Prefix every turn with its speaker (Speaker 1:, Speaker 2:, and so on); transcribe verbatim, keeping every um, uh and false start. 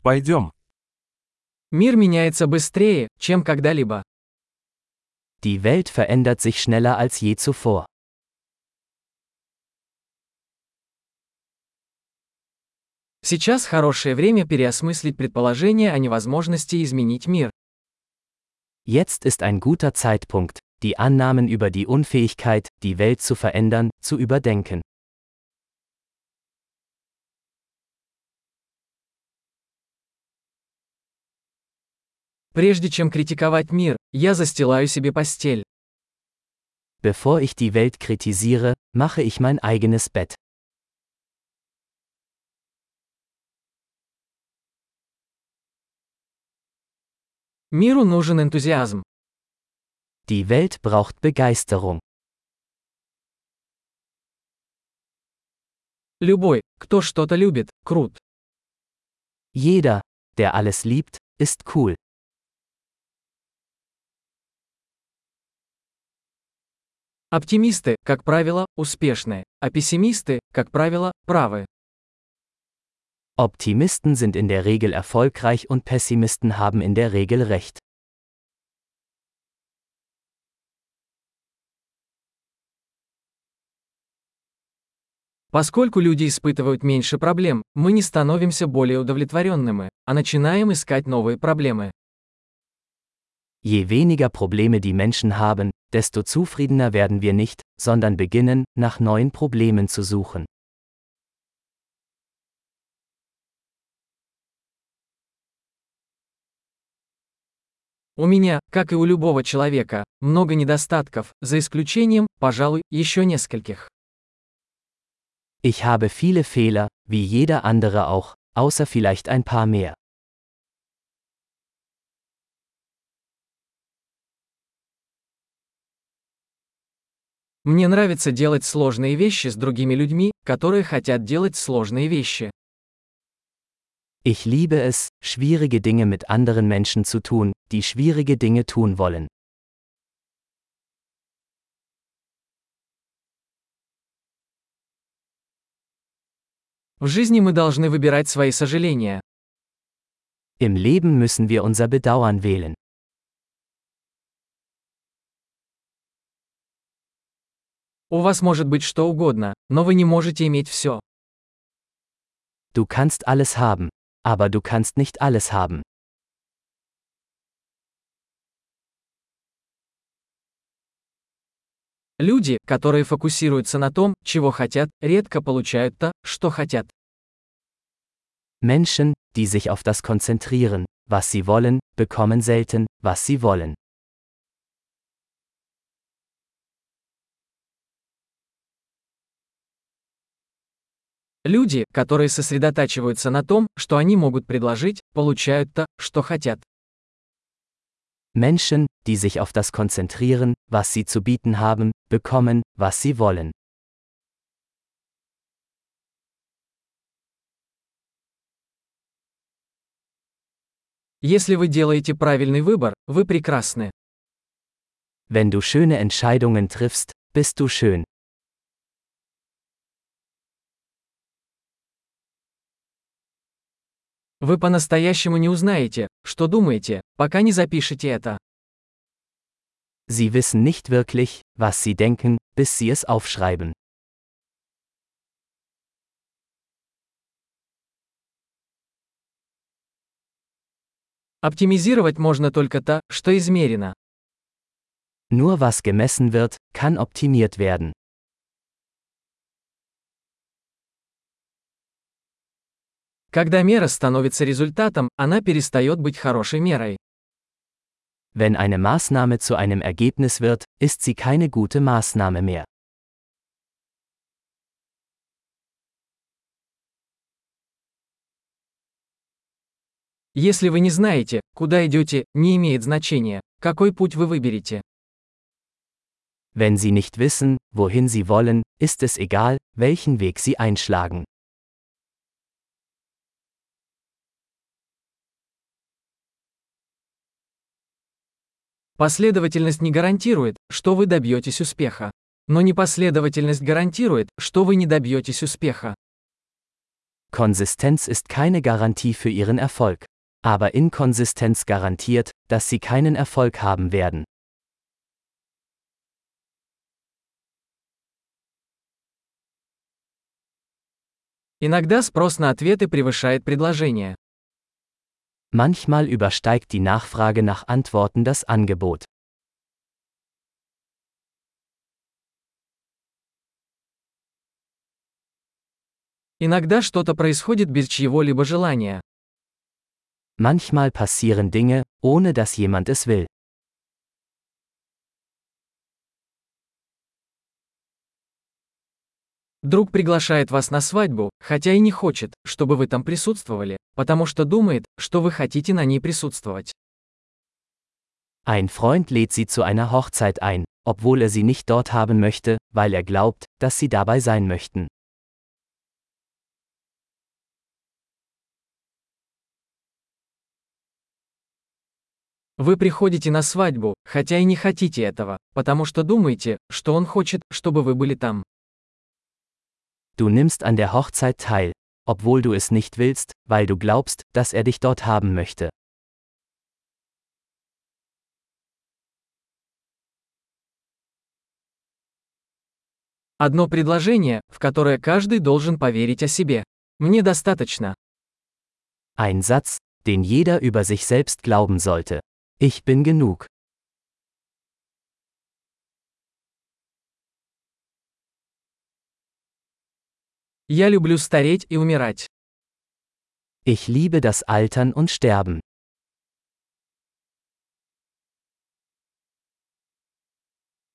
Speaker 1: Пойдем.
Speaker 2: Мир меняется быстрее, чем когда-либо.
Speaker 3: Die Welt verändert sich schneller als je zuvor.
Speaker 2: Сейчас хорошее время переосмыслить предположение о невозможности изменить мир.
Speaker 3: Jetzt ist ein guter Zeitpunkt, die Annahmen über die Unfähigkeit, die Welt zu verändern, zu überdenken.
Speaker 2: Прежде чем критиковать мир, я застилаю себе постель.
Speaker 3: Bevor ich die Welt kritisiere, mache ich mein eigenes Bett.
Speaker 2: Миру нужен энтузиазм.
Speaker 3: Die Welt braucht Begeisterung.
Speaker 2: Любой, кто что-то любит, крут.
Speaker 3: Jeder, der alles liebt, ist cool.
Speaker 2: Оптимисты, как правило, успешны, а пессимисты, как правило, правы.
Speaker 3: Optimisten sind in der Regel erfolgreich und Pessimisten haben in der Regel recht.
Speaker 2: Поскольку люди испытывают меньше проблем, мы не становимся более удовлетворенными, а начинаем искать новые проблемы.
Speaker 3: Je weniger Probleme die Menschen haben, desto zufriedener werden wir nicht, sondern beginnen, nach neuen Problemen zu suchen.
Speaker 2: У меня, как и у любого человека, много недостатков, за исключением, пожалуй, еще нескольких.
Speaker 3: Ich habe viele Fehler, wie jeder andere auch, außer vielleicht ein paar mehr.
Speaker 2: Мне нравится делать сложные вещи с другими людьми, которые хотят делать сложные вещи.
Speaker 3: Ich liebe es, schwierige Dinge mit anderen Menschen zu tun, die schwierige Dinge tun wollen.
Speaker 2: В жизни мы должны выбирать свои сожаления.
Speaker 3: Im Leben müssen wir unser Bedauern wählen.
Speaker 2: У вас может быть что угодно, но вы не можете иметь все.
Speaker 3: Du kannst alles haben, aber du kannst nicht alles haben.
Speaker 2: Люди, которые фокусируются на том, чего хотят, редко получают то, что хотят.
Speaker 3: Menschen, die sich auf das konzentrieren, was sie wollen, bekommen selten, was sie wollen.
Speaker 2: Люди, которые сосредотачиваются на том, что они могут предложить, получают то, что хотят.
Speaker 3: Menschen, die sich auf das konzentrieren, was sie zu bieten haben, bekommen, was sie wollen.
Speaker 2: Если вы делаете правильный выбор, вы прекрасны.
Speaker 3: Wenn du schöne Entscheidungen triffst, bist du schön.
Speaker 2: Вы по-настоящему не узнаете, что думаете, пока не запишете это.
Speaker 3: Sie wissen nicht wirklich, was sie denken, bis sie es aufschreiben.
Speaker 2: Оптимизировать можно только то, что измерено.
Speaker 3: Nur was gemessen wird, kann optimiert werden.
Speaker 2: Когда мера становится результатом, она перестает быть хорошей мерой.
Speaker 3: Wenn eine Maßnahme zu einem Ergebnis wird, ist sie keine gute Maßnahme mehr.
Speaker 2: Если вы не знаете, куда идете, не имеет значения, какой путь вы выберете.
Speaker 3: Wenn sie nicht wissen, wohin sie wollen, ist es egal, welchen Weg sie einschlagen.
Speaker 2: Последовательность не гарантирует, что вы добьетесь успеха. Но непоследовательность гарантирует, что вы не добьетесь успеха.
Speaker 3: Konsistenz ist keine Garantie für ihren Erfolg. Aber Inkonsistenz garantiert, dass sie keinen Erfolg haben werden.
Speaker 2: Иногда спрос на ответы превышает предложение.
Speaker 3: Manchmal übersteigt die Nachfrage nach Antworten das Angebot.
Speaker 2: Иногда что-то происходит без чьего-либо желания.
Speaker 3: Manchmal passieren Dinge, ohne dass jemand es will.
Speaker 2: Друг приглашает вас на свадьбу, хотя и не хочет, чтобы вы там присутствовали, потому что думает, что вы хотите на ней присутствовать.
Speaker 3: Ein Freund lädt sie zu einer Hochzeit ein, obwohl er sie nicht dort haben möchte, weil er glaubt, dass sie dabei sein möchten.
Speaker 2: Вы приходите на свадьбу, хотя и не хотите этого, потому что думаете, что он хочет, чтобы вы были там.
Speaker 3: Du nimmst an der Hochzeit teil, obwohl du es nicht willst, weil du glaubst, dass er dich dort haben möchte.
Speaker 2: Одно предложение, в которое каждый должен поверить о себе. Мне достаточно.
Speaker 3: Ein Satz, den jeder über sich selbst glauben sollte. Ich bin genug.
Speaker 2: Я люблю стареть и умирать.
Speaker 3: Ich liebe das Altern und Sterben.